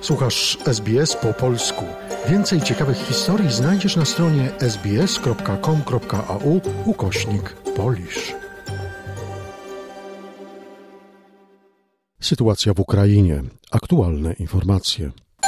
Słuchasz SBS po polsku. Więcej ciekawych historii znajdziesz na stronie sbs.com.au/Polish. Sytuacja w Ukrainie. Aktualne informacje.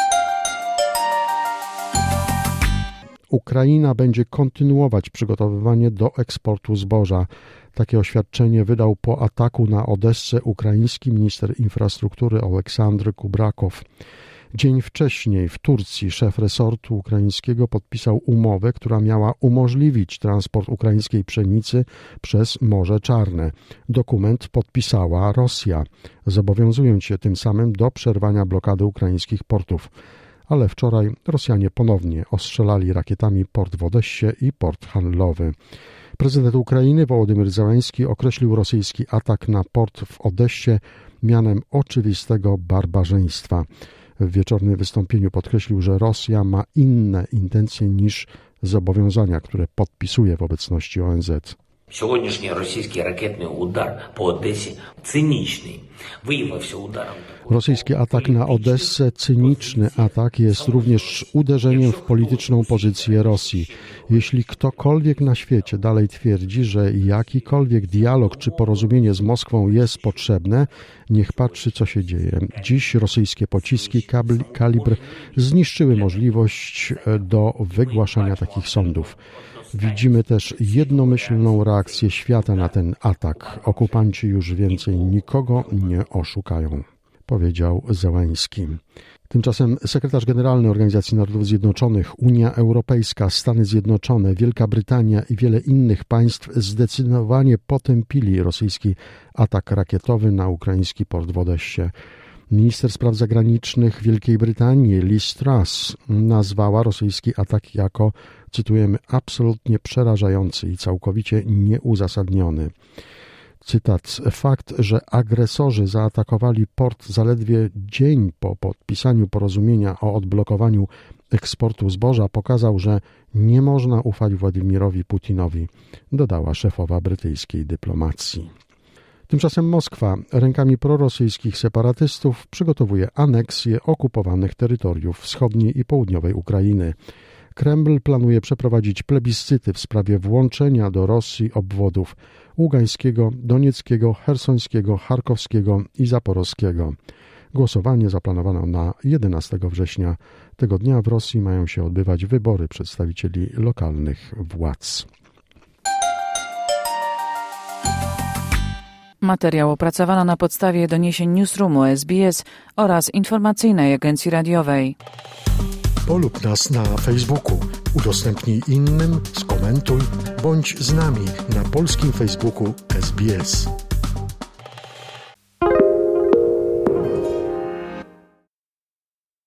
Ukraina będzie kontynuować przygotowywanie do eksportu zboża. Takie oświadczenie wydał po ataku na Odessę ukraiński minister infrastruktury Oleksandr Kubrakow. Dzień wcześniej w Turcji szef resortu ukraińskiego podpisał umowę, która miała umożliwić transport ukraińskiej pszenicy przez Morze Czarne. Dokument podpisała Rosja, zobowiązując się tym samym do przerwania blokady ukraińskich portów. Ale wczoraj Rosjanie ponownie ostrzelali rakietami port w Odessie i port handlowy. Prezydent Ukrainy Wołodymyr Zełenski określił rosyjski atak na port w Odessie mianem oczywistego barbarzyństwa. W wieczornym wystąpieniu podkreślił, że Rosja ma inne intencje niż zobowiązania, które podpisuje w obecności ONZ. Сьогоднішній російський ракетний удар по Одесі цинічний. Виявився ударом. Rosyjski atak na Odessę, cyniczny atak, jest również uderzeniem w polityczną pozycję Rosji. Jeśli ktokolwiek na świecie dalej twierdzi, że jakikolwiek dialog czy porozumienie z Moskwą jest potrzebne, niech patrzy, co się dzieje. Dziś rosyjskie pociski kalibr zniszczyły możliwość do wygłaszania takich sądów. Widzimy też jednomyślną reakcję świata na ten atak. Okupanci już więcej nikogo nie oszukają, powiedział Zełenski. Tymczasem sekretarz generalny Organizacji Narodów Zjednoczonych, Unia Europejska, Stany Zjednoczone, Wielka Brytania i wiele innych państw zdecydowanie potępili rosyjski atak rakietowy na ukraiński port w Odessie. Minister spraw zagranicznych Wielkiej Brytanii Liz Truss nazwała rosyjski atak jako, cytujemy, absolutnie przerażający i całkowicie nieuzasadniony. Cytat: fakt, że agresorzy zaatakowali port zaledwie dzień po podpisaniu porozumienia o odblokowaniu eksportu zboża pokazał, że nie można ufać Władimirowi Putinowi, dodała szefowa brytyjskiej dyplomacji. Tymczasem Moskwa rękami prorosyjskich separatystów przygotowuje aneksję okupowanych terytoriów wschodniej i południowej Ukrainy. Kreml planuje przeprowadzić plebiscyty w sprawie włączenia do Rosji obwodów Ługańskiego, Donieckiego, Chersońskiego, Charkowskiego i Zaporowskiego. Głosowanie zaplanowano na 11 września. Tego dnia w Rosji mają się odbywać wybory przedstawicieli lokalnych władz. Materiał opracowano na podstawie doniesień Newsroomu SBS oraz informacyjnej agencji radiowej. Polub nas na Facebooku, udostępnij innym, skomentuj, bądź z nami na polskim Facebooku SBS.